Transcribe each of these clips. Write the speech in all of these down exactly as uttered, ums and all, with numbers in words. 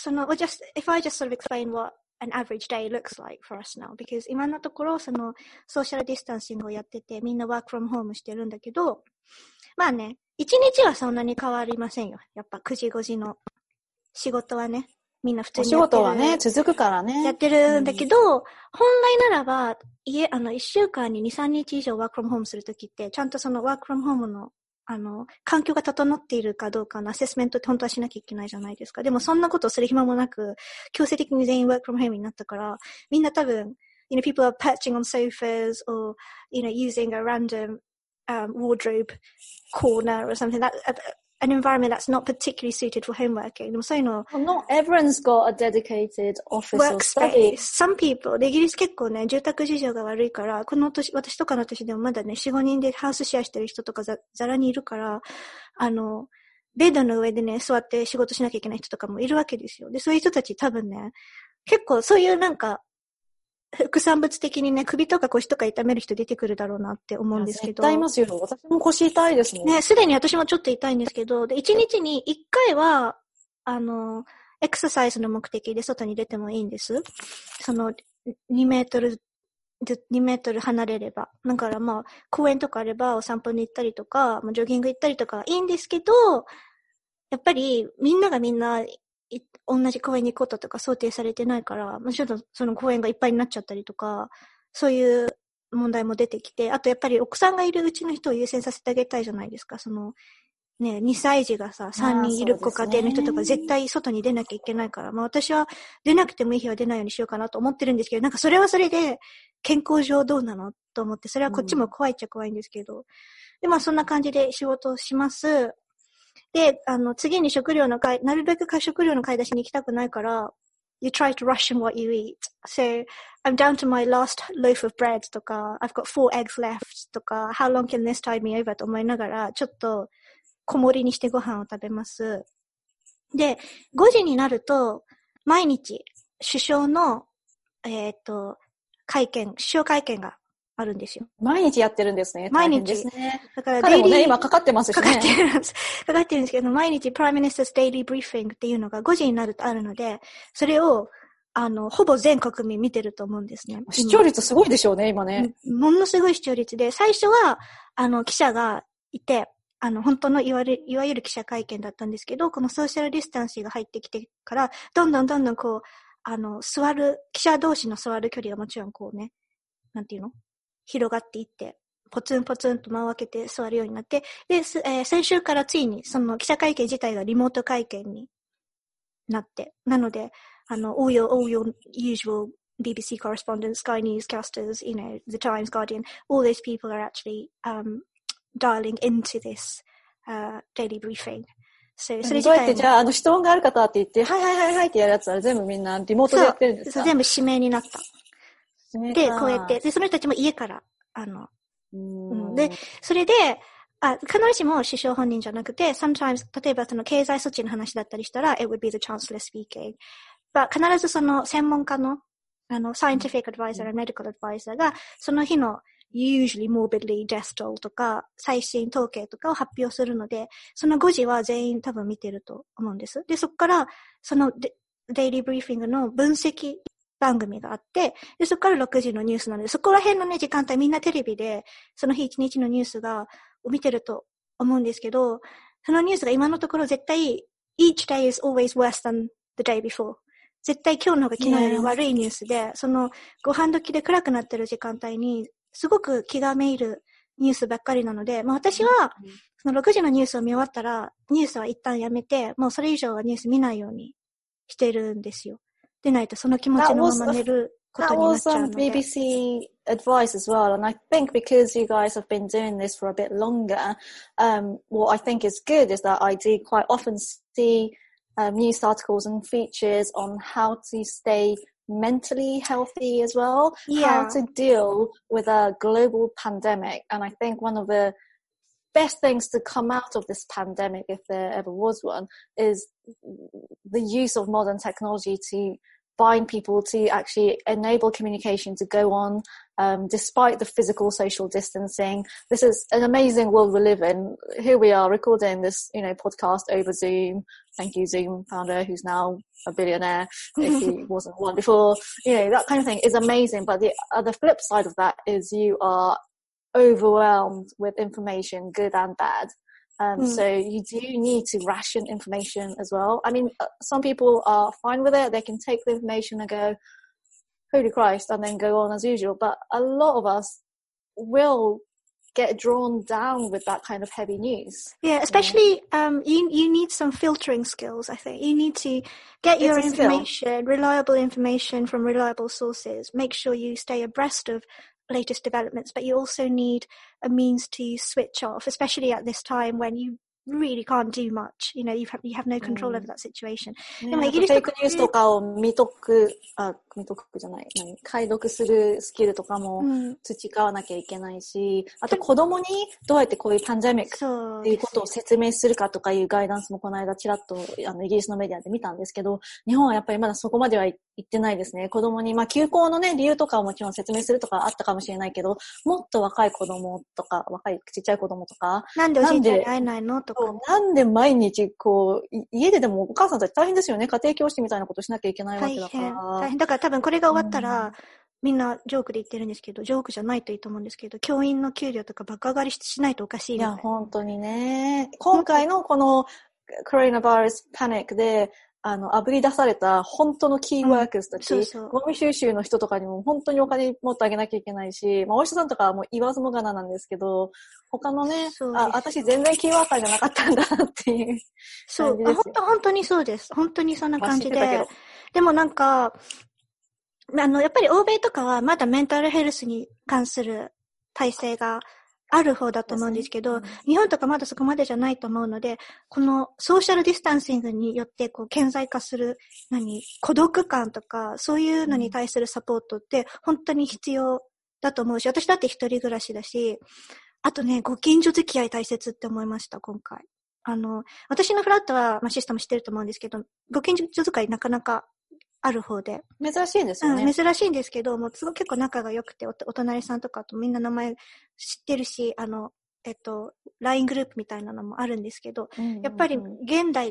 その、just, if I just sort of explain what an average day looks like for us now, because 今のところ、その、ソーシャルディスタンシングをやってて、みんなワークフロムホームしてるんだけど、まあね、一日はそんなに変わりませんよ。やっぱくじごじの仕事はね、みんな普通にやってる。 お仕事はね、続くからね。 やってるんだけど、うん、本来ならば、家、あの、一週間にに、さんにち以上ワークフロムホームするときって、ちゃんとそのワークフロムホームの、あの、環境が整っているかどうかのアセスメントって本当はしなきゃいけないじゃないですか。でもそんなことをする暇もなく、強制的に全員ワークフロムホームになったから、みんな多分、you know, people are perching on sofas or, you know, using a random um, wardrobe corner or something. That, an environment that's not particularly suited for home working. でもそういうの、 well, not everyone's got a dedicated office or study. Some people, でイギリス結構ね、住宅事情が悪いから、この年、私とかの年でもまだね、よん、ごにんでハウスシェアしてる人とかざ、ざらにいるから、あの、ベッドの上でね、座って仕事しなきゃいけない人とかもいるわけですよ。で、そういう人たち多分ね、結構そういうなんか、副産物的にね、首とか腰とか痛める人出てくるだろうなって思うんですけど。 絶対いますよ。私も腰痛いですもん。 ね、すでに私もちょっと痛いんですけど、で、一日に一回は、あの、エクササイズの目的で外に出てもいいんです。その、にメートル、にメートル離れれば。だからまあ、公園とかあればお散歩に行ったりとか、ジョギング行ったりとかいいんですけど、やっぱりみんながみんな、同じ公園に行くこととか想定されてないから、ちょっとその公園がいっぱいになっちゃったりとか、そういう問題も出てきて、あとやっぱり奥さんがいるうちの人を優先させてあげたいじゃないですか。その、ね、にさい児がさ、さんにんいるご家庭の人とか絶対外に出なきゃいけないから、まあ私は出なくてもいい日は出ないようにしようかなと思ってるんですけど、なんかそれはそれで健康上どうなのと思って、それはこっちも怖いっちゃ怖いんですけど、うん、で、まあそんな感じで仕事をします。で、あの、次に食料の買い、なるべく食料の買い出しに行きたくないから、you try to ration what you eat. So, I'm down to my last loaf of bread とか、I've got four eggs left とか、how long can this tide me over と思いながら、ちょっと小盛りにしてご飯を食べます。で、ごじになると、毎日、首相の、えっと、会見、首相会見があるんですよ。 毎日やってるんですね。 毎日。 ですね。 だから彼もね、今かかってますしね。 かかってるんです。かかってるんですけど、毎日 Prime Minister's Daily Briefing っていうのがごじになるとあるので、それを、あの、ほぼ全国民見てると思うんですね。 視聴率すごいでしょうね、今ね。 ものすごい視聴率で、最初は、あの、記者がいて、あの、本当のいわゆる、いわゆる記者会見だったんですけど、このソーシャルディスタンスが入ってきてから、どんどんどんどんこう、あの、座る、記者同士の座る距離がもちろんこうね、なんていうの？広がっていって、ポツンポツンと間を開けて座るようになって、で、えー、先週からついにその記者会見自体がリモート会見になって、なので、あの、all your, all your usual ビービーシー correspondents, Sky Newscasters, you know, The Times, Guardian, all those people are actually um, dialing into this uh, daily briefing. So, それ自体どうやって、じゃあ、あの、質問がある方って言って、はいはいはいはいってやるやつは全部みんなリモートでやってるんですか？ そう、全部指名になった。で、こうやって、で、その人たちも家から、あの、うん、で、それで、あ、必ずしも首相本人じゃなくて、sometimes、例えばその経済措置の話だったりしたら、it would be the chancellor speaking. But 必ずその専門家の、あの、scientific advisor や medical advisor が、その日の usually morbidly death toll とか、最新統計とかを発表するので、そのごじは全員多分見てると思うんです。で、そこから、そのデイリーブリーフィングの分析、番組があって、で、そこからろくじのニュースなので、そこら辺のね、時間帯みんなテレビで、その日一日のニュースが、を見てると思うんですけど、そのニュースが今のところ絶対、each day is always worse than the day before. 絶対今日の方が昨日より悪いニュースで、yeah. そのご飯時で暗くなってる時間帯に、すごく気がめいるニュースばっかりなので、まあ私は、そのろくじのニュースを見終わったら、ニュースは一旦やめて、もうそれ以上はニュース見ないようにしてるんですよ。でないとその気持ちのまま寝ることになっちゃうので。 That was um, ビービーシー advice as well, and I think because you guys have been doing this for a bit longer, um, what I think is good is that I do quite often see um, news articles and features on how to stay mentally healthy as well, yeah. how to deal with a global pandemic, and I think one of the best things to come out of this pandemic, if there ever was one, is the use of modern technology to bind people, to actually enable communication to go on um, despite the physical social distancing. This is an amazing world we live in. Here we are recording this, you know, podcast over Zoom. Thank you, Zoom founder, who's now a billionaire, if he wasn't one before. You know, that kind of thing is amazing. But the other flip side of that is you are overwhelmed with information, good and bad. Um, mm. So you do need to ration information as well. I mean, some people are fine with it. They can take the information and go, holy Christ, and then go on as usual. But a lot of us will get drawn down with that kind of heavy news. Yeah, especially yeah. um you you need some filtering skills, I think. You need to get your information, reliable information from reliable sources. Make sure you stay abreast of latest developments, but you also need a means to switch off, especially at this time when you really can't do much. You know, you have, you have no control over that situation. でもイギリスとかフェイクニュースとかを見とく、あ、見とくじゃない、何、解読するスキルとかも培わなきゃいけないし、あと子供にどうやってこういうパンデミックっていうことを説明するかとかいうガイダンスもこの間ちらっとあのイギリスのメディアで見たんですけど、日本はやっぱりまだそこまでは行ってないですね。子供に、まあ休校のね、理由とかをもちろん説明するとかあったかもしれないけど、もっと若い子供とか、若いちっちゃい子供とか、 なんでおじいちゃんに会えないのとか。 なんで毎日こう、家ででもお母さんたち大変ですよね。家庭教師みたいなことしなきゃいけないわけだから。 大変。大変。だから多分これが終わったら、うん、みんなジョークで言ってるんですけど、ジョークじゃないといいと思うんですけど、教員の給料とか爆上がりしないとおかしい。 いや、本当にね。今回のこのコロナバイラスパニックで、あの、炙り出された本当のキーワークスたち、うん、そうそうゴミ収集の人とかにも本当にお金持ってあげなきゃいけないし、まあ、お医者さんとかはもう言わずもがななんですけど、他のね、あ、私全然キーワーカーじゃなかったんだっていう。 そう、本当、本当にそうです。本当にそんな感じで。でもなんか、あの、やっぱり欧米とかはまだメンタルヘルスに関する体制がある方だと思うんですけど、うん、日本とかまだそこまでじゃないと思うので、このソーシャルディスタンシングによってこう顕在化する、何、孤独感とか、そういうのに対するサポートって本当に必要だと思うし、私だって一人暮らしだし、あとね、ご近所付き合い大切って思いました、今回。あの、私のフラットは、まあ、システム知ってると思うんですけど、ご近所付き合いなかなかある方で。 珍しいですよね。 うん、珍しいんですけど、もうすごい結構仲が良くてお、お隣さんとかとみんな名前知ってるし、あの、えっと、ライン グループみたいなのもあるんですけど、うんうんうん、やっぱり現代って、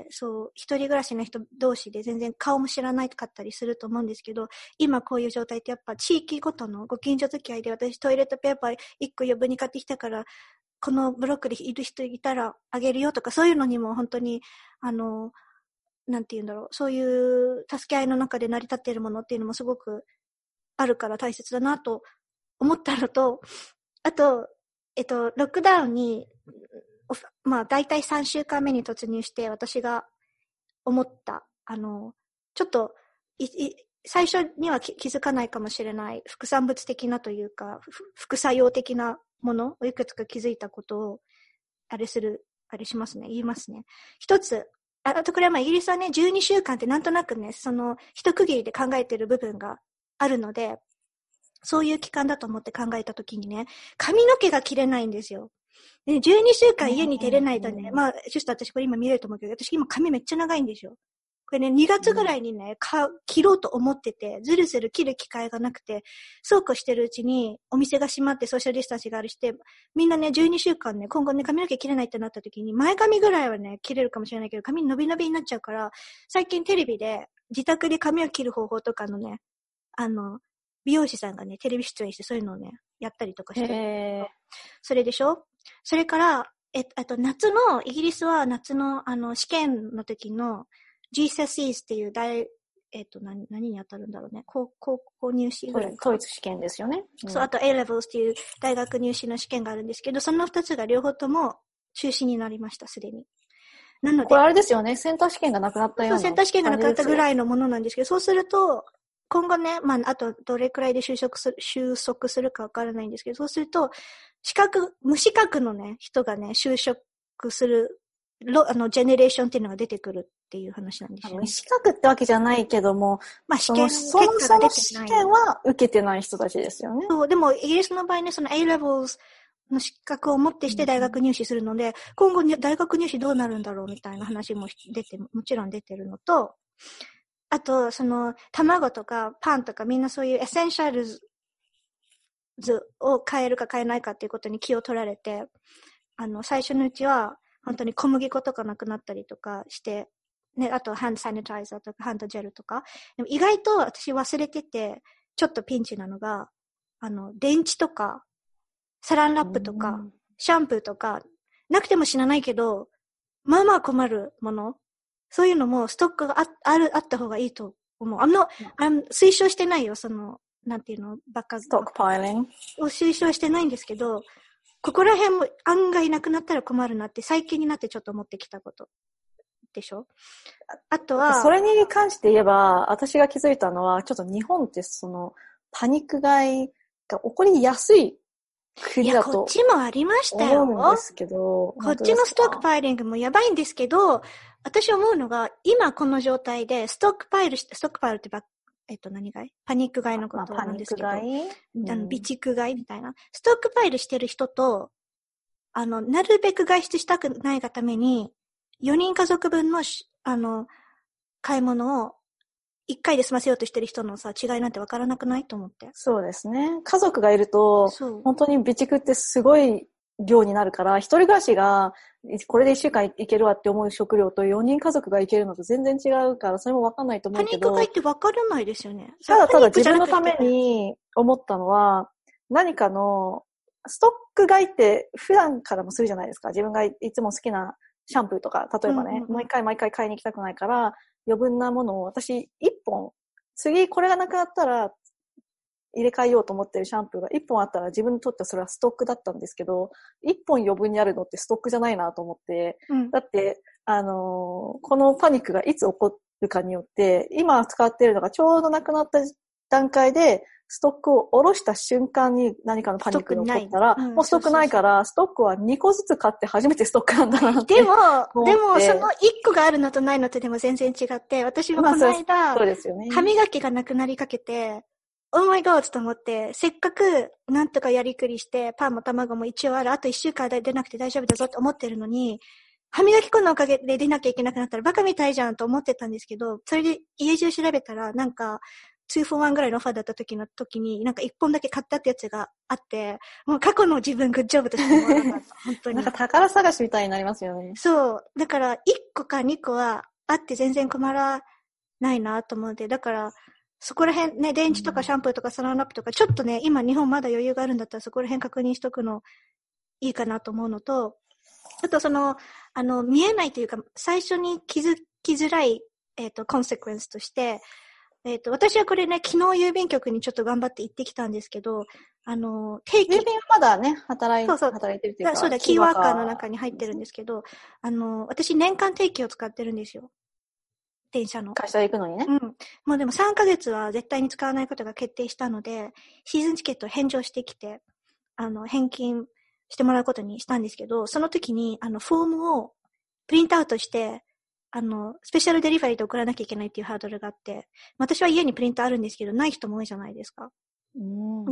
そう、一人暮らしの人同士で全然顔も知らないかったりすると思うんですけど、今こういう状態ってやっぱ地域ごとのご近所付き合いで、私トイレットペーパーいっこ余分に買ってきたから、このブロックでいる人いたらあげるよとか、そういうのにも本当に、あの、なんて言うんだろう、そういう助け合いの中で成り立っているものっていうのもすごくあるから大切だなと思ったのと、あと、えっと、ロックダウンに、まあ、大体さんしゅうかんめに突入して私が思った、あの、ちょっと、い、い、最初には気づかないかもしれない副産物的なというか、副作用的なものをいくつか気づいたことを、あれする、あれしますね、言いますね。一つ、あとこれはまあイギリスはね、じゅうにしゅうかんってなんとなくね、その一区切りで考えてる部分があるので、そういう期間だと思って考えたときにね、髪の毛が切れないんですよ。で、じゅうにしゅうかん家に出れないとね、まあ、ちょっと私これ今見れると思うけど、私今髪めっちゃ長いんですよ。これね、にがつぐらいにね、か切ろうと思ってて、ずるずる切る機会がなくて、そうこうしてるうちに、お店が閉まってソーシャルディスタンスがあるして、みんなね、じゅうにしゅうかんね、今後ね、髪の毛切れないってなった時に、前髪ぐらいはね、切れるかもしれないけど、髪伸び伸びになっちゃうから、最近テレビで、自宅で髪を切る方法とかのね、あの、美容師さんがね、テレビ出演してそういうのをね、やったりとかしてる。それでしょ？それから、え、あと夏の、イギリスは夏の、あの、試験の時の、ジーセスイー っていう大、えっと、何、何に当たるんだろうね。高、高校入試ぐらいか。 統一試験ですよね。 うん、そう、あと A レベル っていう大学入試の試験があるんですけど、その二つが両方とも中止になりました、すでに。なので。 これあれですよね。センター試験がなくなったような。 そう、センター試験がなくなったぐらいのものなんですけど、そうすると、今後ね、まあ、あとどれくらいで収束する、収束するかわからないんですけど、そうすると、資格、無資格のね、人がね、就職する、あの、ジェネレーションっていうのが出てくるっていう話なんですよね。 資格ってわけじゃないけども、まあ試験結果が出てない。その試験は受けてない人たちですよね。 そう、でもイギリスの場合ね、その A レベル の資格を持ってして大学入試するので、うん、今後に大学入試どうなるんだろうみたいな話も出て、もちろん出てるのと、あと、その、卵とかパンとかみんなそういうエッセンシャルズ図を変えるか変えないかっていうことに気を取られて、あの、最初のうちは、本当に小麦粉とかなくなったりとかして、ね、あとハンドサニタイザーとかハンドジェルとか。でも意外と私忘れてて、ちょっとピンチなのが、あの、電池とか、サランラップとか、シャンプーとか、なくても死なないけど、まあまあ困るもの。そういうのもストックが あ, ある、あった方がいいと思う。あの、あの推奨してないよ、その、なんていうの、バカ。 ストックパイリングを推奨してないんですけど、ここら辺も案外なくなったら困るなって最近になってちょっと思ってきたことでしょ。あとはそれに関して言えば私が気づいたのはちょっと日本ってそのパニック買いが起こりやすい国だといやこっちもありましたよ。 思うんですけど、 こっちのストックパイリングもやばいんですけど、私思うのが今この状態でストックパイルしてストックパイルってばえっと何買いパニック買いのことなんですけど、まあ、パニック買い、あの備蓄買いみたいなストックパイルしてる人と、あのなるべく外出したくないがためによにん家族分のあの買い物をいっかいで済ませようとしてる人のさ違いなんて分からなくないと思って。 そうですね。家族がいると本当に備蓄ってすごい量になるから、一人暮らしがこれでいっしゅうかんいけるわって思う食料とよにん家族がいけるのと全然違うから、それも分かんないと思うけど。 パニック買いって分からないですよね。 ただただ自分のために思ったのは、何かのストック買いって普段からもするじゃないですか。自分がいつも好きなシャンプーとか、例えばね、うんうんうん、もう一回毎回買いに行きたくないから、余分なものを私一本、次これがなくなったら入れ替えようと思ってるシャンプーが一本あったら自分にとってはそれはストックだったんですけど、一本余分にあるのってストックじゃないなと思って、うん、だって、あのー、このパニックがいつ起こるかによって、今使ってるのがちょうどなくなった段階で、ストックを下ろした瞬間に何かのパニックが起こったら、うん、もうストックないから、ストックはにこずつ買って初めてストックなんだなって。 でも、でもそのいっこがあるのとないのとでも全然違って、私もこの間、まあ、そうですよね、歯磨きがなくなりかけて、Oh my god と思って、せっかくなんとかやりくりして、パンも卵も一応ある、あといっしゅうかん出なくて大丈夫だぞと思ってるのに、歯磨き粉のおかげで出なきゃいけなくなったらバカみたいじゃんと思ってたんですけど、それで家中調べたら、なんか、ツーフォーワンぐらいのオファーだった時の時に、なんかいっぽんだけ買ったってやつがあって、もう過去の自分グッジョブとして思わなかった。本当に。 なんか宝探しみたいになりますよね。 そう。だから、いっこかにこはあって全然困らないなと思って、だから、そこら辺ね、電池とかシャンプーとかサランラップとか、ちょっとね、今日本まだ余裕があるんだったらそこら辺確認しとくのいいかなと思うのと、あとその、あの、見えないというか、最初に気づきづらい、えっと、コンセクエンスとして、えっと、私はこれね、昨日郵便局にちょっと頑張って行ってきたんですけど、あの、定期。 郵便はまだね、働い、 そうそう働いてるというか。 そうだ、キーワーカーの中に入ってるんですけど、あの、私年間定期を使ってるんですよ。電車の。 会社行くのにね。 うん。もうでもさんかげつは絶対に使わないことが決定したので、シーズンチケットを返上してきて、あの、返金してもらうことにしたんですけど、その時に、あの、フォームをプリントアウトして、あの、スペシャルデリバリーで送らなきゃいけないっていうハードルがあって、私は家にプリントあるんですけど、ない人も多いじゃないですか。うん、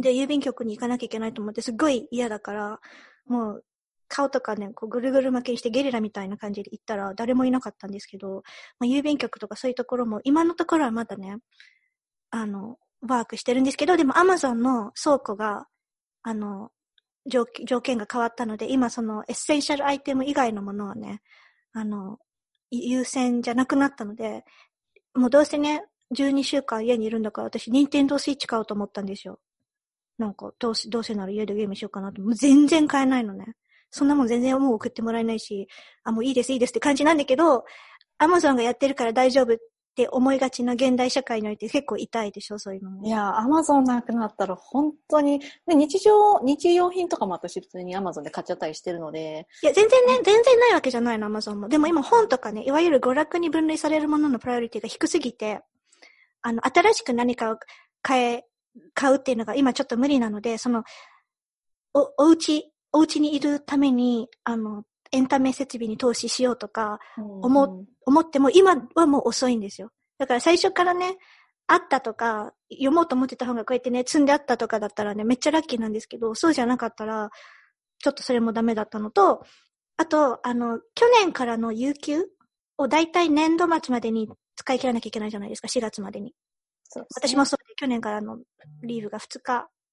で、郵便局に行かなきゃいけないと思って、すっごい嫌だから、もう、顔とかね、こうぐるぐる巻きにしてゲリラみたいな感じで行ったら誰もいなかったんですけど、まあ、郵便局とかそういうところも今のところはまだね、あの、ワークしてるんですけど、でも Amazon の倉庫が、あの、条, 条件が変わったので、今そのエッセンシャルアイテム以外のものはね、あの、優先じゃなくなったので、もうどうせね、じゅうにしゅうかん家にいるんだから私、ニンテンドースイッチ買おうと思ったんですよ。なんか、どうせ、どうせなら家でゲームしようかなと。もう全然買えないのね。そんなもん全然もう送ってもらえないし、あ、もういいですいいですって感じなんだけど、アマゾンがやってるから大丈夫って思いがちな現代社会において結構痛いでしょ、そういうのも。 いや、アマゾンなくなったら本当に、で日常、日用品とかも私普通にアマゾンで買っちゃったりしてるので。 いや、全然ね、全然ないわけじゃないの、アマゾンも。でも今本とかね、いわゆる娯楽に分類されるもののプライオリティが低すぎて、あの、新しく何かを買え、買うっていうのが今ちょっと無理なので、その、お、お家、お家にいるために、あの、エンタメ設備に投資しようとか、思、うんうん、思っても今はもう遅いんですよ。だから最初からね、あったとか、読もうと思ってた本がこうやってね、積んであったとかだったらね、めっちゃラッキーなんですけど、そうじゃなかったら、ちょっとそれもダメだったのと、あと、あの、去年からの有給をだいたい年度末までに使い切らなきゃいけないじゃないですか、しがつまでに。そうですね、私もそうで、去年からのリーブがふつか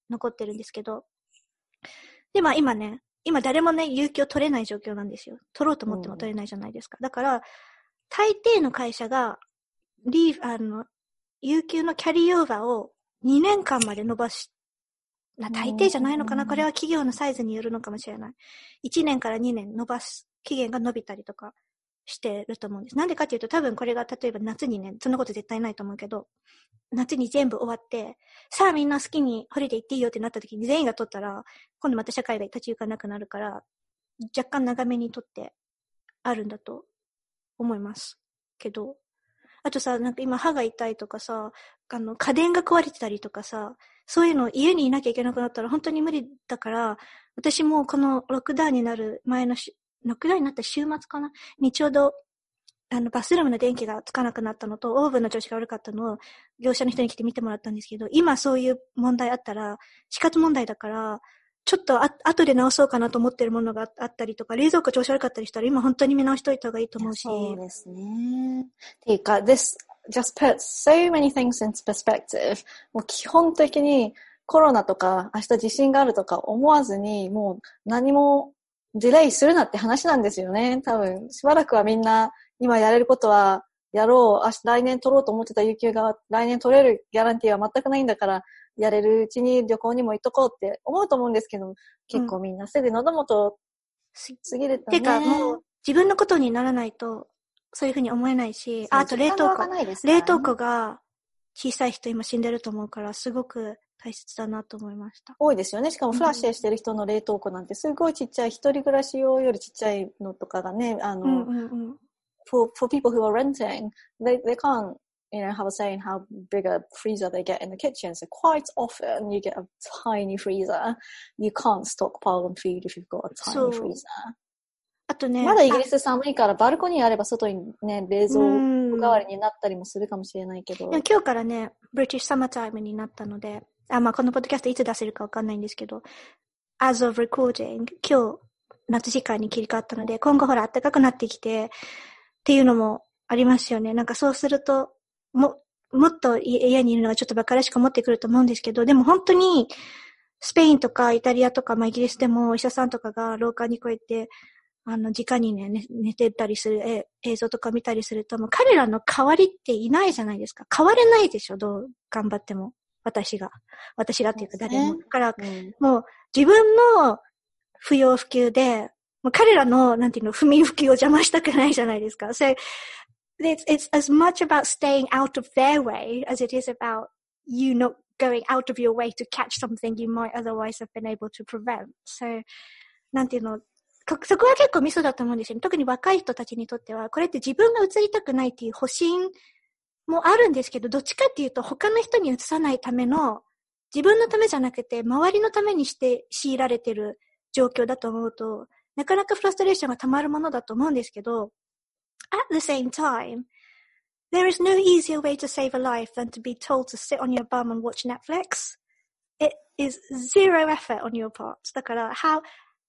残ってるんですけど。で、まあ今ね、今誰もね、有給を取れない状況なんですよ。取ろうと思っても取れないじゃないですか。うん、だから、大抵の会社が、リー、あの、有給のキャリーオーバーをにねんかんまで伸ばし、な、大抵じゃないのかな、これは企業のサイズによるのかもしれない。いちねんからにねん伸ばす、期限が伸びたりとかしてると思うんです。なんでかっていうと、多分これが例えば夏にね、そんなこと絶対ないと思うけど、夏に全部終わって、さあみんな好きにホリデー行っていいよってなった時に全員が取ったら、今度また社会が立ち行かなくなるから、若干長めに取ってあるんだと思います。けど、あとさ、なんか今歯が痛いとかさ、あの、家電が壊れてたりとかさ、そういうの家にいなきゃいけなくなったら本当に無理だから、私もこのロックダウンになる前のし、ロックダウンになった週末かなにちょうど、あの、バスルームの電気がつかなくなったのと、オーブンの調子が悪かったのを、業者の人に来て見てもらったんですけど、今そういう問題あったら、死活問題だから、ちょっとあ後で直そうかなと思ってるものがあったりとか、冷蔵庫調子悪かったりしたら、今本当に見直しといた方がいいと思うし。 そうですね。っていうか、this just puts so many things into perspective. もう基本的にコロナとか明日地震があるとか思わずに、もう何もディレイするなって話なんですよね。多分、しばらくはみんな今やれることはやろう。明日来年取ろうと思ってた有給が来年取れるギャランティーは全くないんだから、やれるうちに旅行にも行っとこうって思うと思うんですけど、結構みんなすぐ喉元過ぎるとね。 てかもう自分のことにならないとそういうふうに思えないし、あ, あと冷凍庫、ね、冷凍庫が小さい人今死んでると思うからすごく大切だなと思いました。 多いですよね。しかもフラッシュしてる人の冷凍庫なんてすごいちっちゃい、一人暮らし用よりちっちゃいのとかがね、あの、うんうんうん、for, for people who are renting, they, they can't you know, have a say in how big a freezer they get in the kitchen. So quite often you get a tiny freezer. You can't stockpile on food if you've got a tiny freezer. あとね、 まだイギリス寒いからバルコニーあれば外にね、冷蔵庫代わりになったりもするかもしれないけど。 今日からね、British Summertime になったので、あ、まあこのポッドキャストいつ出せるかわかんないんですけど、as of recording、今日夏時間に切り替わったので、今後ほら暖かくなってきてっていうのもありますよね。なんかそうすると、も、もっと家にいるのがちょっと馬鹿らしく思ってくると思うんですけど、でも本当にスペインとかイタリアとか、まあイギリスでもお医者さんとかが廊下にこうやって、あの、直にね、寝てたりする映像とか見たりすると、もう彼らの代わりっていないじゃないですか。変われないでしょ、どう頑張っても。私が。私がっていうか誰も。だから、うん、もう自分の不要不急で、もう彼らの、なんていうの、不眠不休を邪魔したくないじゃないですか。So, it's, it's as much about staying out of their way as it is about you not going out of your way to catch something you might otherwise have been able to prevent. So, なんていうの、そこは結構ミソだと思うんですよね。特に若い人たちにとっては、これって自分が移りたくないっていう保身もあるんですけど、どっちかっていうと他の人に移さないための、自分のためじゃなくて周りのためにして強いられてる状況だと思うと、なかなかフラストレーションが溜まるものだと思うんですけど、at the same time, there is no easier way to save a life than to be told to sit on your bum and watch Netflix. It is zero effort on your part. だから、how,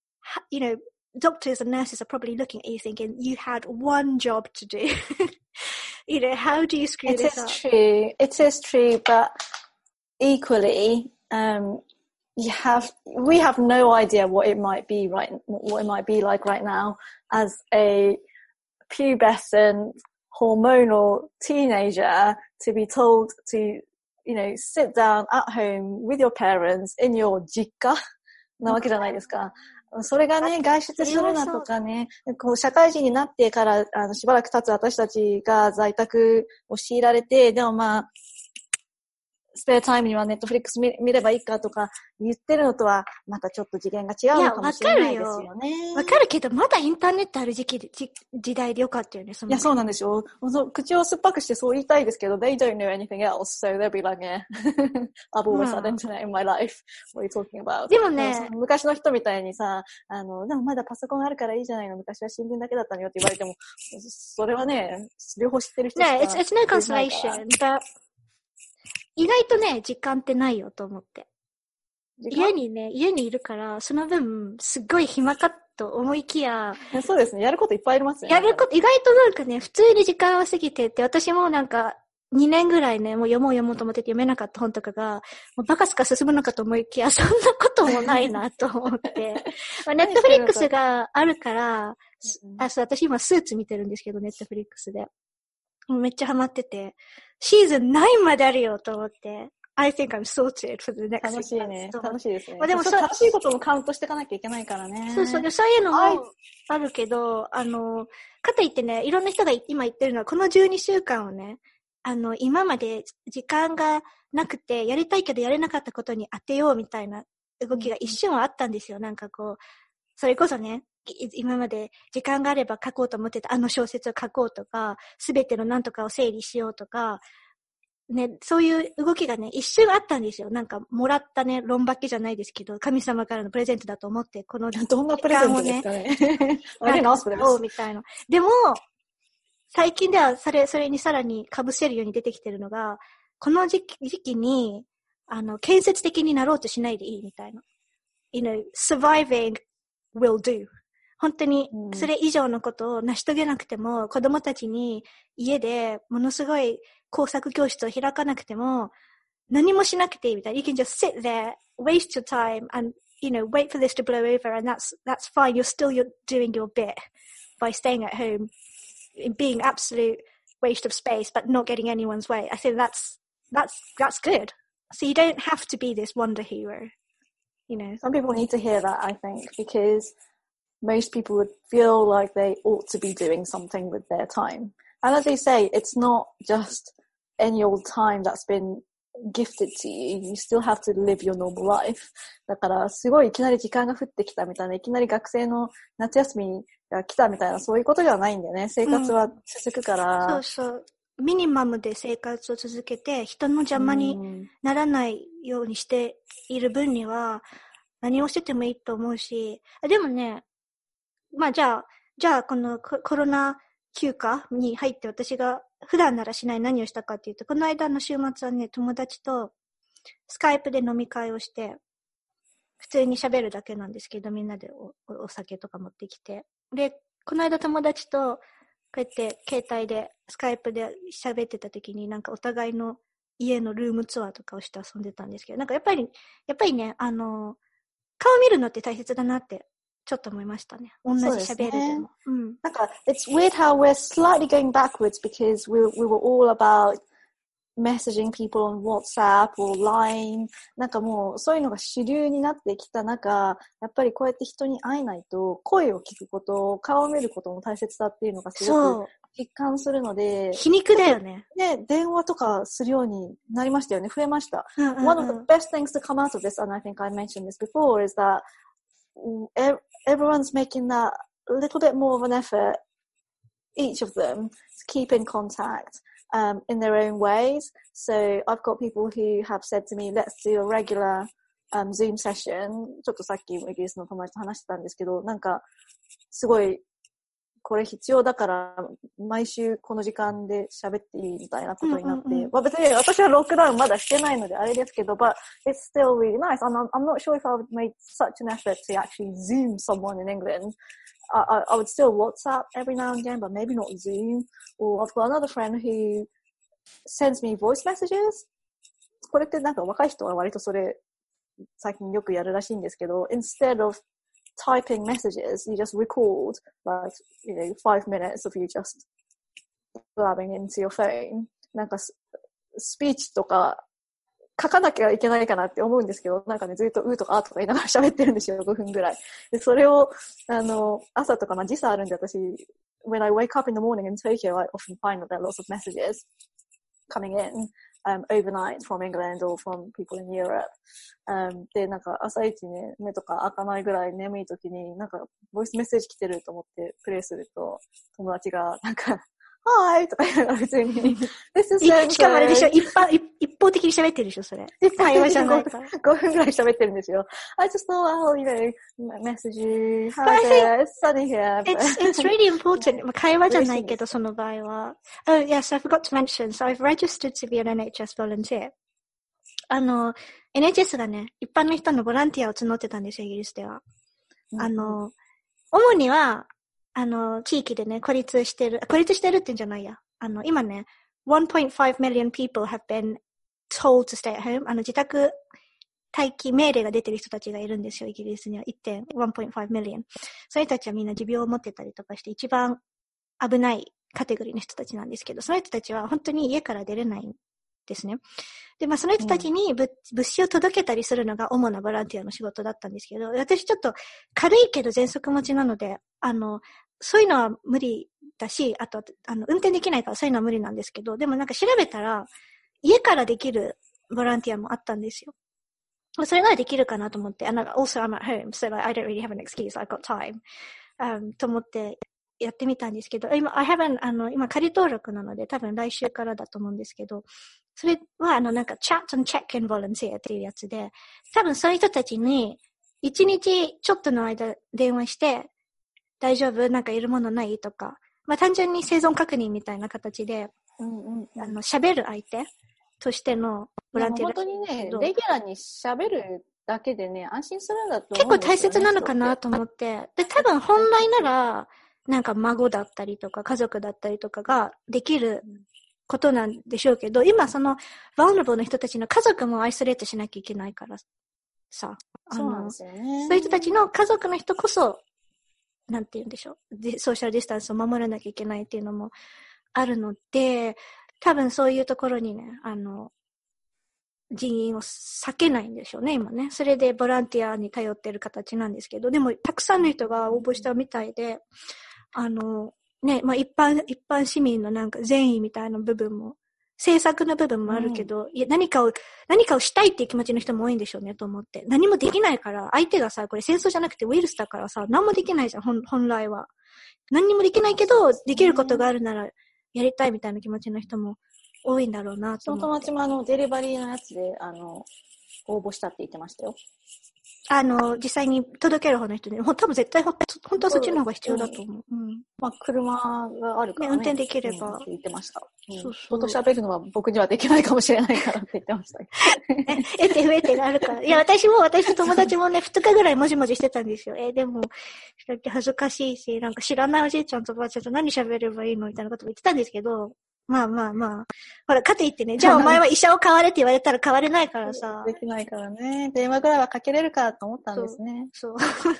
you know, doctors and nurses are probably looking at you thinking, you had one job to do. You know, how do you screw it this up? It is true. It is true, but equally, um, you have, we have no idea what it might be right, what it might be like right now as a pubescent, hormonal teenager to be told to, you know, sit down at home with your parents in your 実家なわけじゃないですか。それがね、外出するなとかね、こう社会人になってからあのしばらく経つ私たちが在宅を強いられて、でもまあ、スペアタイムにはネットフリックス 見, 見ればいいかとか言ってるのとはまたちょっと次元が違うのかもしれないですよね。 わかるけど、まだインターネットある時期で、時代でよかったよね。そのいや、そうなんですよ。口を酸っぱくしてそう言いたいですけど、they don't know anything else, so they'll be like, yeah, I've always had internet in my life. What are you talking about? でもね、 昔の人みたいにさ、あの、でもまだパソコンあるからいいじゃないの。昔は新聞だけだったのよって言われても、それはね、両方知ってる人しかね、it's, it's no consolation, but 意外とね、時間ってないよと思って。家にね、家にいるから、その分、すっごい暇かと思いきや。 そうですね、やることいっぱいありますよね。 やること、意外となんかね、普通に時間は過ぎてって、私もなんか、 にねんぐらいね、もう読もう読もうと思ってて読めなかった本とかが、もうバカすか進むのかと思いきや、そんなこともないなと思って。まあ、ネットフリックスがあるから、あ、そう、私今スーツ見てるんですけど、ネットフリックスで。めっちゃハマってて、シーズンナインまであるよと思って、I think I'm sorted for the next 楽しいね。楽しいですね。 まあ、でもそう楽しいこともカウントしていかなきゃいけないからね。 そうそう。そういうのもあるけど、あの、かといってね、いろんな人が今言ってるのは、このじゅうにしゅうかんをね、あの、今まで時間がなくて、やりたいけどやれなかったことに当てようみたいな動きが一瞬はあったんですよ。うん、なんかこう、それこそね、今まで時間があれば書こうと思ってたあの小説を書こうとか、すべてのなんとかを整理しようとか、ね、そういう動きがね、一瞬あったんですよ。なんか、もらったね、論化けじゃないですけど、神様からのプレゼントだと思って、この時間をね、 どんなプレゼントですかね。あれな、それみたいな。でも、最近では、それ、それにさらに被せるように出てきてるのが、この時期、時期に、あの、建設的になろうとしないでいいみたいな。You know, surviving will do. 本当に、それ以上のことを成し遂げなくても、うん、子供たちに家でものすごい工作教室を開かなくても、何もしなくていいみたいな。You can just sit there, waste your time, and, you know, wait for this to blow over, and that's, that's fine. You're still you're doing your bit by staying at home, being absolute waste of space, but not getting anyone's way. I think that's, that's, that's good. So you don't have to be this wonder hero, you know. Some people need to hear that, I think, because most people would feel like they ought to be doing something with their time. And as they say, it's not just any old time that's been gifted to you. You still have to live your normal life. だから、すごいいきなり時間が降ってきたみたいな、いきなり学生の夏休みが来たみたいな、そういうことではないんだよね。生活は続くから。 うん、そうそう。ミニマムで生活を続けて、人の邪魔にならないようにしている分には、何をしててもいいと思うし、でもね、まあじゃあ、じゃあこのコロナ休暇に入って私が普段ならしない何をしたかっていうと、この間の週末はね、友達とスカイプで飲み会をして、普通に喋るだけなんですけど、みんなで お, お酒とか持ってきて。で、この間友達とこうやって携帯でスカイプで喋ってた時になんかお互いの家のルームツアーとかをして遊んでたんですけど、なんかやっぱり、やっぱりね、あの、顔見るのって大切だなってちょっと思いましたね。同じ喋るでも。うん。 なんか、it's weird how we're slightly going backwards because we, we were all about messaging people on WhatsApp or Line. なんかもうそういうのが主流になってきた中、やっぱりこうやって人に会えないと声を聞くこと、顔を見ることも大切だっていうのがすごく実感するので。 皮肉だよね。 ね、電話とかするようになりましたよね。増えました。うんうんうん、One of the best things to come out of this, and I think I mentioned this before, is that everyone's making that little bit more of an effort, each of them, to keep in contact um, in their own ways. So I've got people who have said to me, let's do a regular um, Zoom session. ちょっとさっきイギリスの友達と話してたんですけど、なんかすごいこれ必要だから毎週この時間で喋っていいみたいなことになって、うんうんうん、まあ、別に私はロックダウンまだしてないのであれですけど、but it's still really nice. I'm, I'm not sure if I would make such an effort to actually Zoom someone in England. I, I, I would still WhatsApp every now and again, but maybe not Zoom. Or I've got another friend who sends me voice messages. これってなんか若い人は割とそれ最近よくやるらしいんですけど、instead of typing messages, you just record like, you know, five minutes of you just blabbing into your phone. なんかスピーチとか書かなきゃいけないかなって思うんですけど、なんかね、ずっとうーとかあーとか言いながら喋ってるんですよ、ごふんぐらい。で、それを、あの、朝とか、まあ時差あるんで私、when I wake up in the morning in Tokyo, I often find that there are lots of messages coming in. Um, overnight from England or from people in Europe. Um, で、なんか朝一ね、目とか開かないぐらい眠い時に、なんかボイスメッセージ来てると思ってプレイすると、友達がなんか、Hi! とか言いながら普通に、This is so しかもあれでしょ、一般、一方的に喋ってるでしょ、それ。会話じゃないから。 ごふんぐらい喋ってるんですよ。I just thought, I'll, you know, message you. How's it? It's sunny here. It's, it's really important. 会話じゃないけど、その場合は。Oh, yes, I forgot to mention. So I've registered to be an エヌエイチエス volunteer. あの、エヌエイチエス がね、一般の人のボランティアを募ってたんですよ、イギリスでは。うん、あの、主には、あの、地域でね、孤立してる、孤立してるってんじゃないや。あの、今ね、 one point five million people have been told to stay at home. あの、自宅待機命令が出てる人たちがいるんですよ、イギリスには。いってんいち million。その人たちはみんな持病を持ってたりとかして、一番危ないカテゴリーの人たちなんですけど、その人たちは本当に家から出れないんですね。で、まあ、その人たちに物、うん、物資を届けたりするのが主なボランティアの仕事だったんですけど、私ちょっと軽いけど喘息持ちなので、あの、そういうのは無理だし、あと、あの、運転できないからそういうのは無理なんですけど、でもなんか調べたら、家からできるボランティアもあったんですよ。それならできるかなと思って、and also I'm at home, so like, I don't really have an excuse, I've got time、um, と思ってやってみたんですけど、今、I haven't, あの、今仮登録なので多分来週からだと思うんですけど、それはあのなんか chat and check-in volunteer っていうやつで、多分そういう人たちに一日ちょっとの間電話して、大丈夫？なんかいるものない？とか、まあ単純に生存確認みたいな形で、 うんうんうん、 あの、喋る相手としてのボランティア。 本当にね、レギュラーに喋るだけでね、安心するんだと思うんですよね。結構大切なのかなとと思って。で、多分本来なら、なんか孫だったりとか家族だったりとかができることなんでしょうけど、今その、vulnerable の人たちの家族もアイソレートしなきゃいけないからさ。 そうなんですよね。 そういう人たちの家族の人こそ、なんて言うんでしょう。で、ソーシャルディスタンスを守らなきゃいけないっていうのもあるので、多分そういうところにね、あの、人員を避けないんでしょうね、今ね。それでボランティアに頼ってる形なんですけど、でもたくさんの人が応募したみたいで、あの、ね、まあ一般、一般市民のなんか善意みたいな部分も、政策の部分もあるけど、うん、いや何かを、何かをしたいっていう気持ちの人も多いんでしょうね、と思って。何もできないから、相手がさ、これ戦争じゃなくてウイルスだからさ、何もできないじゃん、本、本来は。何にもできないけど、できることがあるならやりたいみたいな気持ちの人も多いんだろうなと思って。 その友達もあの、デリバリーのやつで、あの、応募したって言ってましたよ。 あの、実際に届ける方の人で、ほ多分絶対ほ、本当はそっちの方が必要だと思う。うん。 まあ、車があるからね。 ね、運転できれば。 うん、って言ってました。うん、 そうそう。 人と喋るのは僕にはできないかもしれないからって言ってました。 え、えて増えてがあるから。いや、私も、私と友達もね、二日ぐらいもじもじしてたんですよ。え、でも、だって恥ずかしいし、なんか知らないおじいちゃんとばあちゃんと何喋ればいいのみたいなことも言ってたんですけど、まあまあまあ。ほら、かといってね、じゃあお前は医者を変われって言われたら変われないからさ。 できないからね。電話ぐらいはかけれるかと思ったんですね。 そう。そう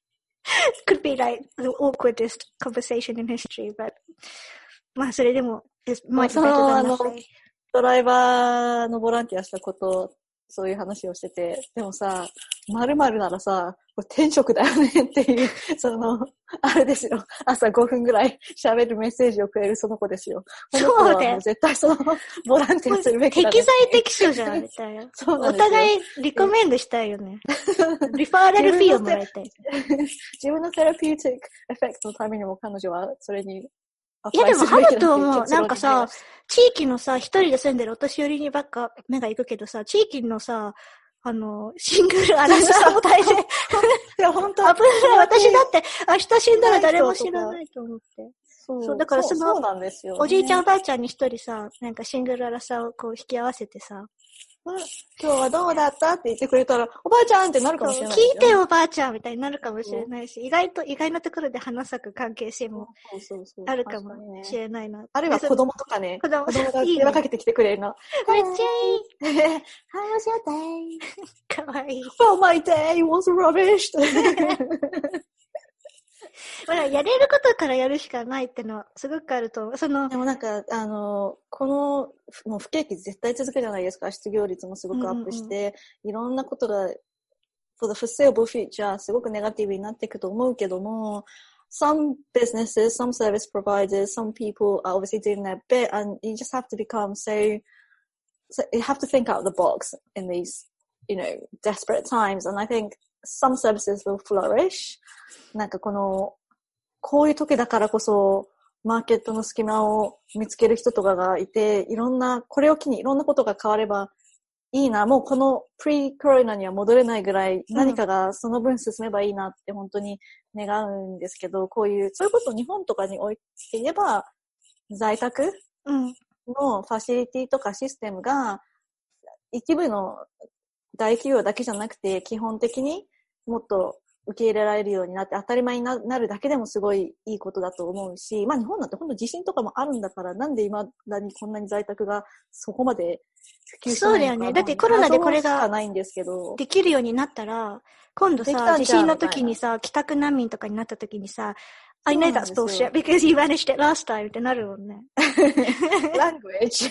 could be like the awkwardest conversation in history, but まあそれでも、 まあそのあの、ドライバーのボランティアしたこと、そういう話をしてて、でもさ、〇〇ならさ、これ天職だよねっていう、その、あれですよ。朝ごふんぐらい喋るメッセージをくれるその子ですよ。 そうで。 絶対その、ボランティアするべきだ、ね。 適材適所じゃん、みたいな。そうなんですよ。お互いリコメンドしたいよね。リファーラルフィーをもらいたい。 自分のセラピューティックエフェクトのためにも彼女はそれに、 いやでもあると思う。なんかさ、地域のさ、一人で住んでるお年寄りにばっか目が行くけどさ、地域のさ、あの、シングルアラサーも大変。いや、本当危ない。私だって、明日死んだら誰も知らないと思って。そう。そう、だからその、 そうなんですよ、ね、 おじいちゃんおばあちゃんに一人さ、なんかシングルアラサーをこう引き合わせてさ、 今日はどうだったって言ってくれたら、おばあちゃんってなるかもしれない、 ね。聞いてよおばあちゃんみたいになるかもしれないし、意外と、意外なところで花咲く関係性もあるかもしれないな。そうそうそう、 あるいは子供とかね。子供, 子供が電話かけてきてくれるの。 めっちゃいい。 How's your day? かわいい。 Well, my day was rubbish. まあ、やれることからやるしかないってのはすごくあると思う。そのでもなんか、あの、この、もう不景気絶対続くじゃないですか。失業率もすごくアップして、うんうんうん、いろんなことが、for the foreseeable future すごくネガティブになっていくと思うけども、some businesses, some service providers, some people are obviously doing their bit and you just have to become so, so you have to think out of the box in these, you know, desperate times. And I think some services will flourish. なんかこの、こういう時だからこそ、マーケットの隙間を見つける人とかがいて、いろんな、これを機にいろんなことが変わればいいな、もうこのプリコロナには戻れないぐらい何かがその分進めばいいなって本当に願うんですけど、こういう、そういうことを日本とかに置いていれば、在宅のファシリティとかシステムが、一部の大企業だけじゃなくて、基本的にもっと受け入れられるようになって当たり前になるだけでもすごいいいことだと思うし、まあ日本なんて本当地震とかもあるんだから、なんで今だにこんなに在宅がそこまで普及してないのか。 そうだよね。だってコロナでこれができるようになったら、今度さ、地震の時にさ、帰宅難民とかになった時にさ、I know that's bullshit because you managed it last time ってなるもんね。 Language.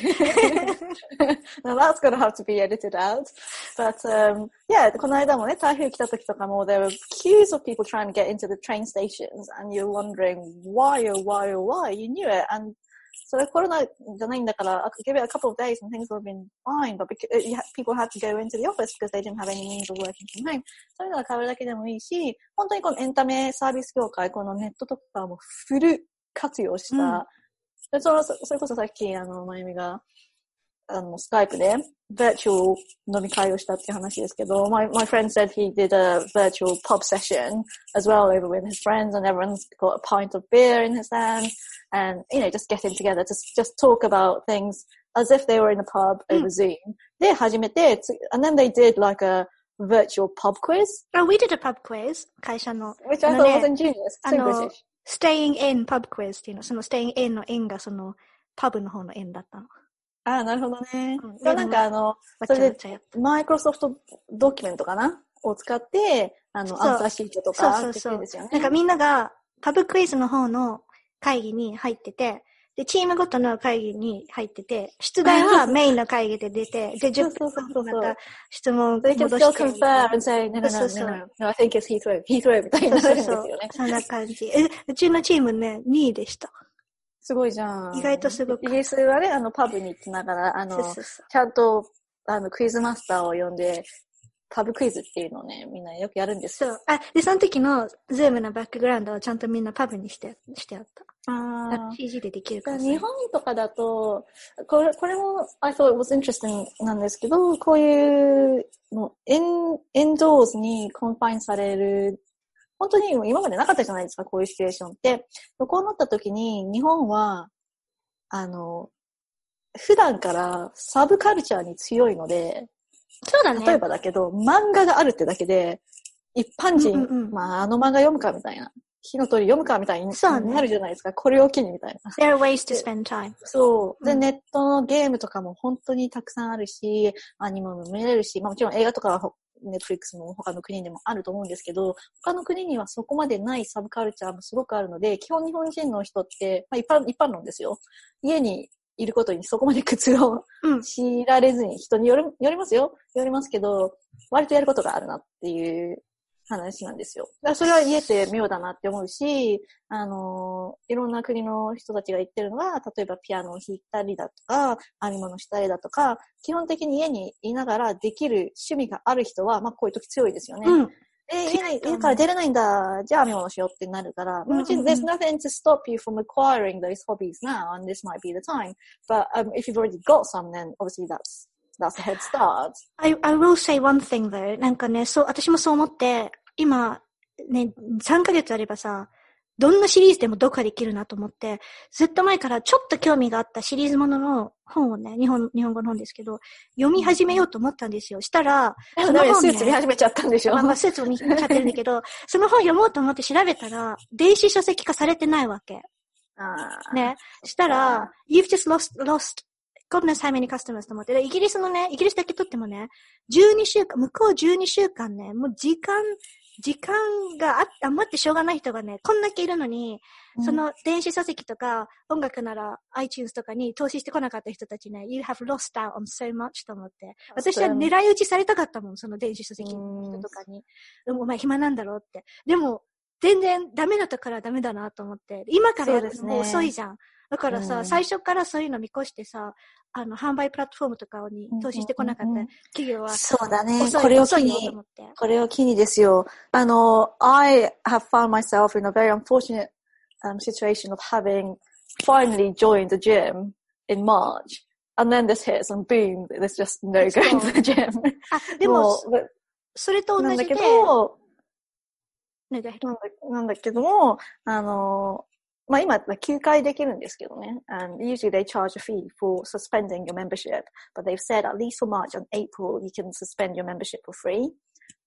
Now that's going to have to be edited out. But, um, yeah, この間もね、台風来た時とかも、there were queues of people trying to get into the train stations and you're wondering why or why or why. You knew it. And それコロナじゃないんだから、give it a couple of days and things would have been fine. But because, people had to go into the office because they didn't have any means of working from home. そういうのが変わるだけでもいいし、本当にこのエンタメサービス業界、このネットとかもフル活用した、うん、その、それこそさっき、あの、まゆみが、あの、スカイプで、virtual 飲み会をしたっていう話ですけど、my, my friend said he did a virtual pub session as well over with his friends and everyone's got a pint of beer in his hand and, you know, just getting together to just talk about things as if they were in a pub over Zoom. で、始めて、and then they did like a virtual pub quiz. Oh, we did a pub quiz, 会社の。 Which I thought was ingenious. あの、staying in pub quiz っていうの、その staying in の in がその、パブの方の in だったの。 ああ、なるほどね。うん、そうなんかあの、それで、マイクロソフトドキュメントかなを使って、あの、アンサーシートとかそうそうそう。なんかみんなが、パブクイズの方の会議に入ってて、で、チームごとの会議に入ってて、出題はメインの会議で出て、で、じゅっぷんまた質問戻して。 They can still confirm and say, no, no, no, no, no, no, I think it's Heathrow, Heathrow みたいになるんですよね。 そんな感じ。え、うちのチームね、にいでした。 すごいじゃん。 意外とすごく。 イギリスはね、あの、パブに行きながら、あの、そうそうそうちゃんと、あの、クイズマスターを呼んで、パブクイズっていうのをね、みんなよくやるんですよ。 そう。あ、で、その時のズームのバックグラウンドをちゃんとみんなパブにして、してあった。ああ。シージー でできるから。 日本とかだと、これ、これも、I thought it was interesting なんですけど、こういう、もう、エン、エンドーズにコンファインされる、本当に今までなかったじゃないですか、こういうシチュエーションって。こうなった時に、日本は、あの、普段からサブカルチャーに強いので、 そうだね。 例えばだけど、漫画があるってだけで、一般人、うんうんうん、まあ、あの漫画読むかみたいな、火の鳥読むかみたいになるじゃないですか、ね、これを機にみたいな。 There are ways to spend time. そう。で、うん、ネットのゲームとかも本当にたくさんあるし、アニメも見れるし、まあもちろん映画とかはネットフリックスも他の国でもあると思うんですけど、他の国にはそこまでないサブカルチャーもすごくあるので、基本日本人の人って、まあ一般、一般論ですよ。家にいることにそこまで苦痛を強いられずに、人による、よりますよ。よりますけど、割とやることがあるなっていう話なんですよ。だからそれは家って妙だなって思うし、あの、いろんな国の人たちが言ってるのは、例えばピアノを弾いたりだとか、編み物したりだとか、基本的に家にいながらできる趣味がある人は、まあこういう時強いですよね。うんえ、家, 家から出れないんだ。じゃあ編み物しようってなるから。もちろん、there's nothing to stop you from acquiring those hobbies now, and this might be the time. But um, if you've already got some, then obviously that's, that's a head start. I, I will say one thing though. なんかね、そう、私もそう思って、今、ね、さんかげつあればさ、どんなシリーズでも読破できるなと思って、ずっと前からちょっと興味があったシリーズものの本をね、日本、日本語の本ですけど、読み始めようと思ったんですよ。したら、 その本、ね、スーツ見始めちゃったんでしょ、 まあ、まあ、スーツを見ちゃってるんだけど、その本読もうと思って調べたら、電子書籍化されてないわけ。 あね。したら、you've just lost, lost, goodness how many customers と思って。イギリスのね、イギリスだけとってもね、じゅうにしゅうかん、向こうじゅうにしゅうかんね、もう時間、時間があ余ってしょうがない人がね、こんだけいるのに、うん、その電子書籍とか音楽なら iTunes とかに投資してこなかった人たちね、You have lost out on so much と思って。私は狙い撃ちされたかったもん、その電子書籍の人とかに。でもお前暇なんだろうって。でも、全然ダメだったからダメだなと思って。今からやるのもう遅いじゃん。だからさ、うん、最初からそういうの見越してさ、あの、販売プラットフォームとかに投資してこなかった企業は、 そうだね。これを機に、これを機にですよ。あの、I have found myself in a very unfortunate um, situation of having finally joined the gym in March. And then this hits and boom, there's just no going to the gym. あ、でも、それと同じで。 なんだけど、なんだなんだけども、あの、まあ今、休会できるんですけどね。And usually they charge a fee for suspending your membership. But they've said at least for March and April, you can suspend your membership for free.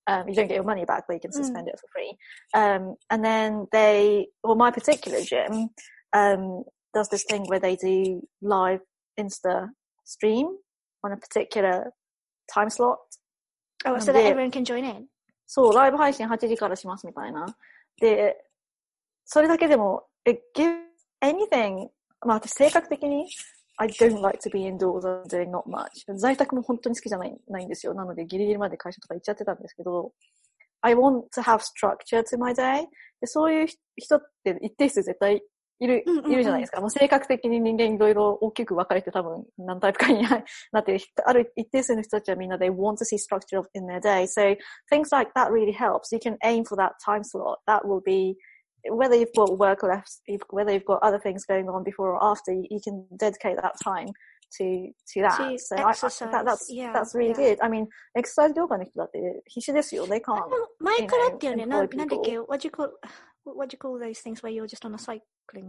Um, you don't get your money back, but you can suspend mm. it for free. Um, and then they, well, my particular gym, um, does this thing where they do live Insta stream on a particular time slot. Oh, so that everyone can join in? そう、ライブ配信はちじからしますみたいな。で、それだけでも、it gives anything, まあ私性格的に、I don't like to be indoors and doing not much. 在宅も本当に好きじゃない、ないんですよ。なのでギリギリまで会社とか行っちゃってたんですけど、I want to have structure to my day. でそういう人って一定数絶対いる、うんうんうん、いるじゃないですか。もう性格的に人間いろいろ大きく分かれて多分何タイプかになっている。ある一定数の人たちはみんな they want to see structure in their day. So things like that really helps. You can aim for that time slot. That will be, whether you've got work left, whether you've got other things going on before or after, you can dedicate that time to, to that. To so exercise. I, that, that's, yeah, that's really yeah. good. I mean, exercise 業界の人だって必死ですよ。They can't. 前からってよね、な、なんだっけ、what do you call, what do you call those things where you're just on a cycling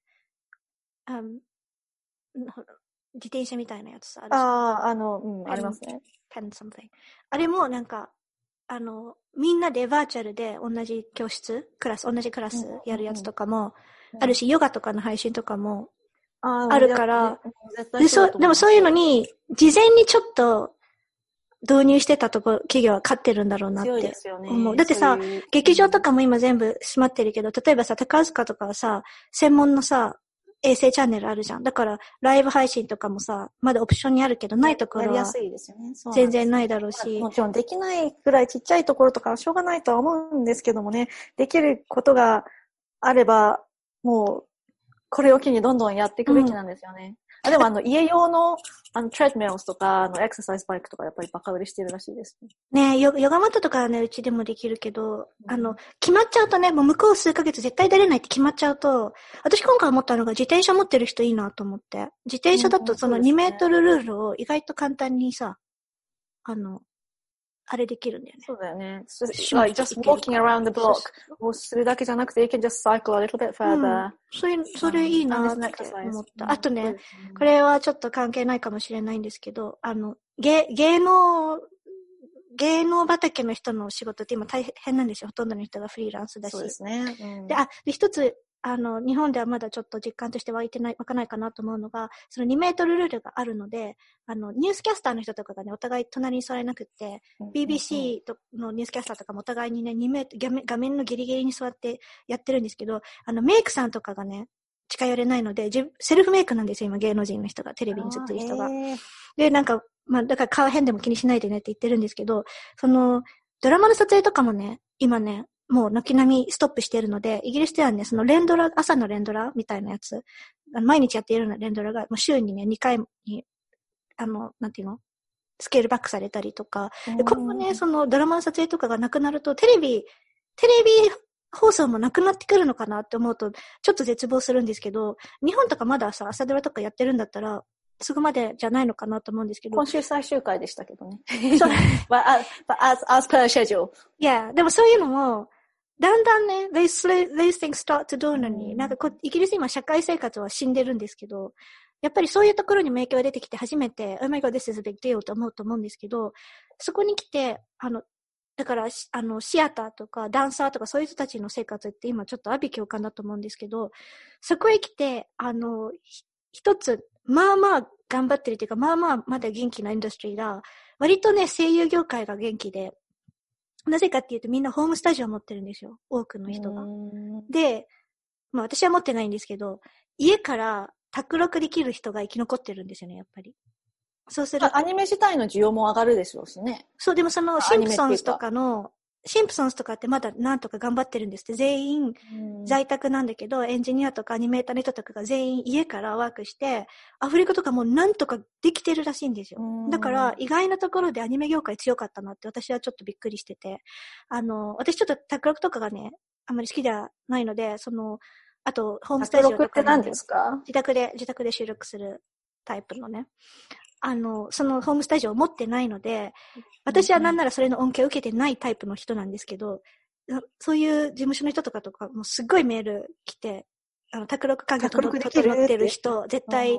thing?Um, 自転車みたいなやつさ。 ああ、あの、うん、ありますね。 pen something. あれもなんか、あの、みんなでバーチャルで同じ教室、クラス、同じクラスやるやつとかも、あるし、ヨガとかの配信とかもあるから、で、そう、でもそういうのに、事前にちょっと導入してたとこ、企業は勝ってるんだろうなって思う。強いですよね。だってさ、劇場とかも今全部閉まってるけど、例えばさ、宝塚とかはさ、専門のさ、衛星チャンネルあるじゃん。だから、ライブ配信とかもさ、まだオプションにあるけど、ないところは、全然ないだろうし。 もちろんできないくらいちっちゃいところとかはしょうがないとは思うんですけどもね、できることがあれば、もう、これを機にどんどんやっていくべきなんですよね。うん、あでもあの、家用の、あの、トレッドミルスとか、あの、エクササイズバイクとかやっぱりバカ売れしてるらしいです。 ねえ、ヨガマットとかはね、うちでもできるけど、うん、あの、決まっちゃうとね、もう向こう数ヶ月絶対出れないって決まっちゃうと、私今回思ったのが自転車持ってる人いいなと思って。自転車だとそのにメートルルールを意外と簡単にさ、あの、あれできるんだよね。 そうだよね。Like just walking around the block をするだけじゃなくて、you can just cycle a little bit further、うん、 それ、それいいなって思った。あとね、これはちょっと関係ないかもしれないんですけど、あの、芸、芸能、芸能畑の人の仕事って今大変なんですよ。ほとんどの人がフリーランスだし。 そうですね。うん、 で、あ、で、一つ、あの、日本ではまだちょっと実感として湧いてない、湧かないかなと思うのが、そのにメートルルールがあるので、あの、ニュースキャスターの人とかがね、お互い隣に座れなくって、うん、ビービーシー のニュースキャスターとかもお互いにね、にメートル、画面、画面のギリギリに座ってやってるんですけど、あの、メイクさんとかがね、近寄れないので、セルフメイクなんですよ、今芸能人の人が、テレビに映ってる人が。で、なんか、まあ、だから顔変でも気にしないでねって言ってるんですけど、その、ドラマの撮影とかもね、今ね、もう軒並みストップしているので、イギリスではね、その連ドラ、朝の連ドラみたいなやつ、毎日やっているような連ドラが、もう週にね、にかいに、あの、なんていうのスケールバックされたりとか、で今後ね、そのドラマの撮影とかがなくなると、テレビ、テレビ放送もなくなってくるのかなって思うと、ちょっと絶望するんですけど、日本とかまださ、朝ドラとかやってるんだったら、すぐまでじゃないのかなと思うんですけど。 今週最終回でしたけどね。そう。but as, but as, as per schedule. Yeah, でもそういうのも、だんだんね、these, these things start to dawn on me、うん、なんかこイギリス今社会生活は死んでるんですけど、やっぱりそういうところにも影響が出てきて初めて、oh my god, this is a big deal と思うと思うんですけど、そこに来て、あの、だから、あの、シアターとかダンサーとかそういう人たちの生活って今ちょっと阿鼻共感だと思うんですけど、そこへ来て、あの、一つ、まあまあ頑張ってるというか、まあまあまだ元気なインダストリーが、割とね、声優業界が元気で、なぜかっていうとみんなホームスタジオを持ってるんですよ。多くの人が。で、まあ私は持ってないんですけど、家から卓録できる人が生き残ってるんですよね、やっぱり。そうすると。 アニメ自体の需要も上がるでしょうしね。 そう、でもそのシンプソンズとかの、シンプソンズとかってまだなんとか頑張ってるんですって。全員在宅なんだけど、エンジニアとかアニメーターの人とかが全員家からワークして、アフリカとかもなんとかできてるらしいんですよ。だから意外なところでアニメ業界強かったなって私はちょっとびっくりしてて。あの、私ちょっと卓録とかがね、あんまり好きじゃないので、その、あとホームスタジオとか、 卓録って何ですか？ 自宅で、自宅で収録するタイプのね。あの、そのホームスタジオを持ってないので、私はなんならそれの恩恵を受けてないタイプの人なんですけど、そういう事務所の人とかとかもすっごいメール来て、あの、卓録環境整ってる人、絶対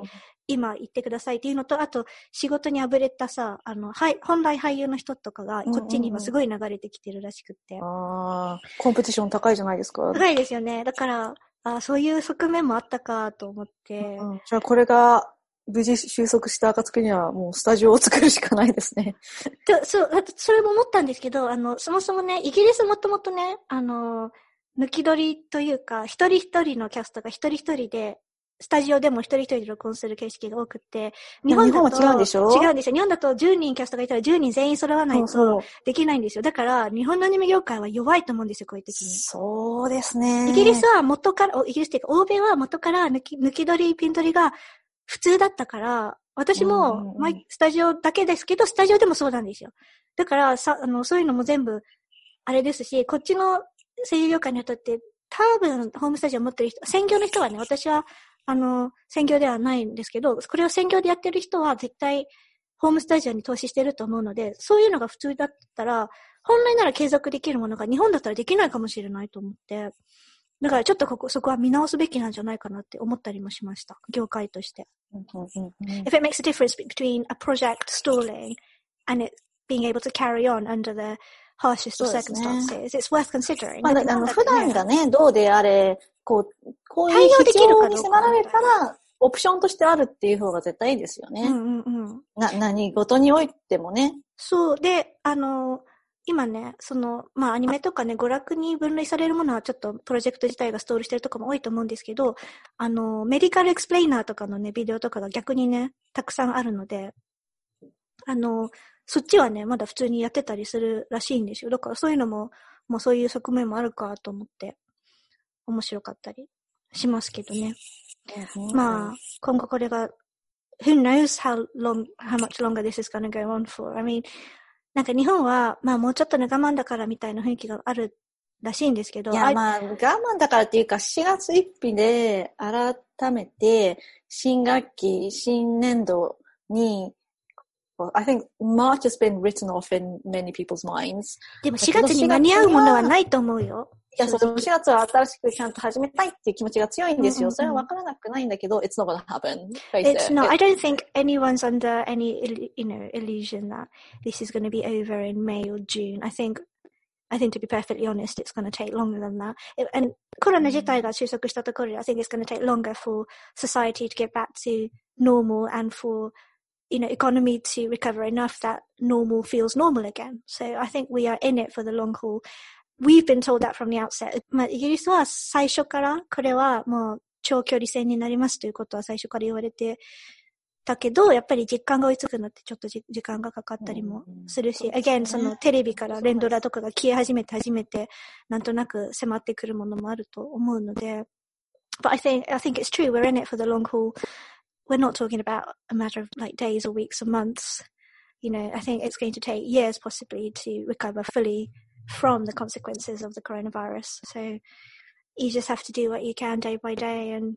今言ってくださいっていうのと、あと仕事にあぶれたさ、あの、はい、本来俳優の人とかがこっちに今すごい流れてきてるらしくって。 うんうんうん、ああ、コンペティション高いじゃないですか。 高いですよね。だから、あそういう側面もあったかと思って。 うん、じゃあこれが無事収束した暁にはもうスタジオを作るしかないですね。 とそう、それも思ったんですけど、あの、そもそもね、イギリスもともとね、あの、抜き取りというか、一人一人のキャストが一人一人で、スタジオでも一人一人で録音する形式が多くって、日本だと、 日本は違うんでしょ？ 違うんですよ。日本だとじゅうにんキャストがいたらじゅうにん全員揃わないとできないんですよ。だから、日本のアニメ業界は弱いと思うんですよ、こういう時に。 そうですね。 イギリスは元から、イギリスっていうか、欧米は元から抜き、抜き取り、ピン取りが普通だったから、私も、うんうんうん、スタジオだけですけど、スタジオでもそうなんですよ。だから、さ、あの、そういうのも全部、あれですし、こっちの声優業界の人って、多分、ホームスタジオ持ってる人、専業の人はね、私は、あの、専業ではないんですけど、これを専業でやってる人は絶対、ホームスタジオに投資してると思うので、そういうのが普通だったら、本来なら継続できるものが日本だったらできないかもしれないと思って、だからちょっとここ、そこは見直すべきなんじゃないかなって思ったりもしました。業界として。If it makes a difference between a project stalling and it being able to carry on under the harshest of circumstances, it's worth considering. まあ、あの、普段がね、どうであれ、こう、こういう必要に迫られたら、オプションとしてあるっていう方が絶対いいですよね。 うんうんうん。 な、何事においてもね。 そう。で、あの、今ね、その、まあアニメとかね、娯楽に分類されるものはちょっとプロジェクト自体がストールしてるとかも多いと思うんですけど、あの、メディカルエクスプレイナーとかのね、ビデオとかが逆にね、たくさんあるので、あの、そっちはね、まだ普通にやってたりするらしいんですよ。だからそういうのも、もうそういう側面もあるかと思って、面白かったりしますけどね。Mm-hmm. まあ、今後これが、who knows how long, how much longer this is going to go on for. I mean, なんか日本は、まあもうちょっとね我慢だからみたいな雰囲気があるらしいんですけど。 いや、まあ我慢だからっていうかしがつついたちで改めて新学期、新年度に、well, I think March has been written off in many people's minds. でもしがつに間に合うものはないと思うよ。 いや、そのしがつは新しくちゃんと始めたいっていう気持ちが強いんですよ。それは分からなくないんだけど、it's not gonna happen. It's not. I don't think anyone's under any, you know, illusion that this is going to be over in May or June. I think, I think to be perfectly honest, it's going to take longer than that. It, and コロナ自体が収束したところで、I think it's going to take longer for society to get back to normal and for, you know, economy to recover enough that normal feels normal again. So I think we are in it for the long haul.We've been told that from the outset. まあ、イギリスは最初からこれはもう長距離戦になりますということは最初から言われてたけど、やっぱり実感が追いつくのってちょっと時間がかかったりもするし、うん、again そのテレビから連ドラとかが消え始めて初めてなんとなく迫ってくるものもあると思うので、but I think I think it's true. We're in it for the long haul. We're not talking about a matter of like days or weeks or months. You know, I think it's going to take years possibly to recover fully.From the consequences of the coronavirus. So you just have to do what you can day by day. And,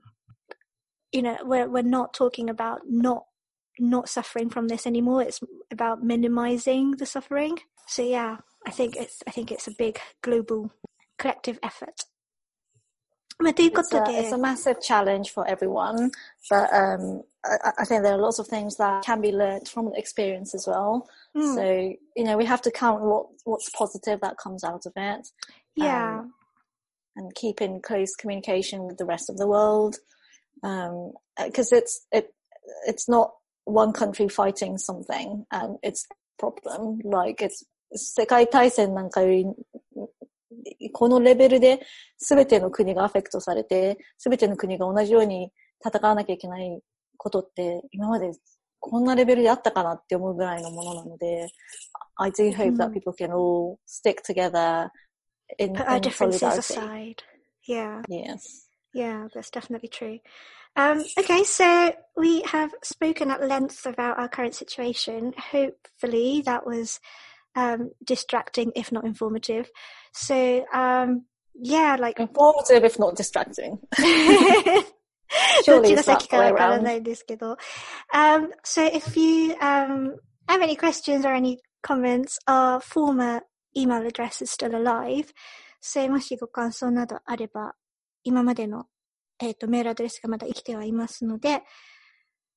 you know, we're, we're not talking about not, not suffering from this anymore. It's about minimizing the suffering. So yeah, I think it's, I think it's a big global collective effort. It's a, it's a massive challenge for everyone. But, um, I, I think there are lots of things that can be learned from the experience as well.Mm. So, you know, we have to count what what's positive that comes out of it. Yeah. Um, and keep in close communication with the rest of the world. Um, because it's, it, it's not one country fighting something and it's a problem. Like it's, 世界大戦なんかより、このレベルで全ての国がアフェクトされて、全ての国が同じように戦わなきゃいけないことって今までこんなレベルであったかなって思うぐらいのものなので、I do hope that people can all stick together in, Put our in differences solidarity. aside. Yeah. Yes. Yeah, that's definitely true. Um, okay, so we have spoken at length about our current situation. Hopefully that was um, distracting, if not informative. So, um, yeah, like... Informative, if not distracting. Surely どっちが先かわからないですけど。Um, so if you um, have any questions or any comments, our former email address is still alive. So もしご感想などあれば、今までの、えーと、メールアドレスがまだ生きてはいますので、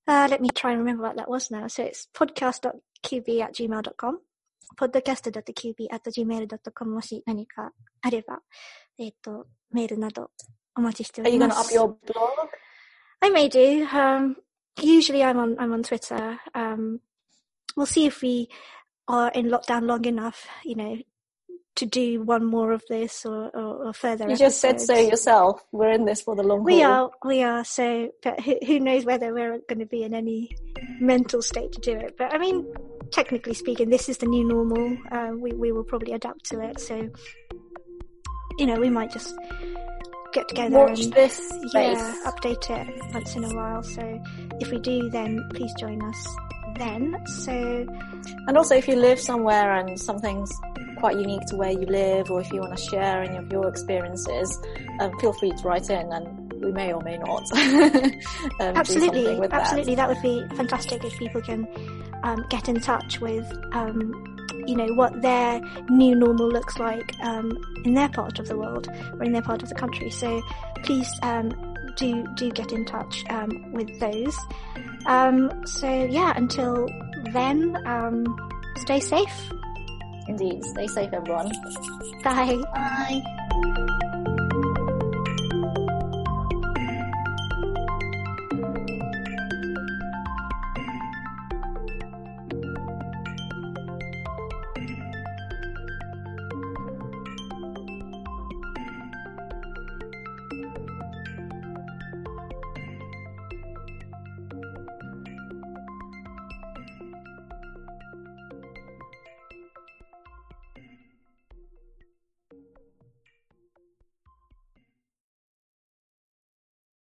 Uh, let me try and remember what that was now. So it's podcast dot q b at gmail dot com, podcast dot q b at gmail dot com もし何かあれば、えっと、メールなどお待ちしております。 Are you going to up your blog? I may do. Um, usually I'm on, I'm on Twitter. Um, we'll see if we are in lockdown long enough, you know, to do one more of this or, or, or further You episodes. just said so yourself. We're in this for the long haul. We are, we are. So, but who, who knows whether we're going to be in any mental state to do it. But I mean, technically speaking, this is the new normal. Uh, we, we will probably adapt to it. So, you know, we might just get together Watch and this yeah, space. update it once in a while. So if we do, then please join us then. So, and also if you live somewhere and something's quite unique to where you live, or if you want to share any of your experiences, um, feel free to write in, and we may or may not um, absolutely, do something with absolutely, that. that would be fantastic if people can um, get in touch with, um, you know, what their new normal looks like um, in their part of the world or in their part of the country. So please um, do do get in touch um, with those. Um, so yeah, until then, um, stay safe. Indeed. Stay safe, everyone. Bye. Bye.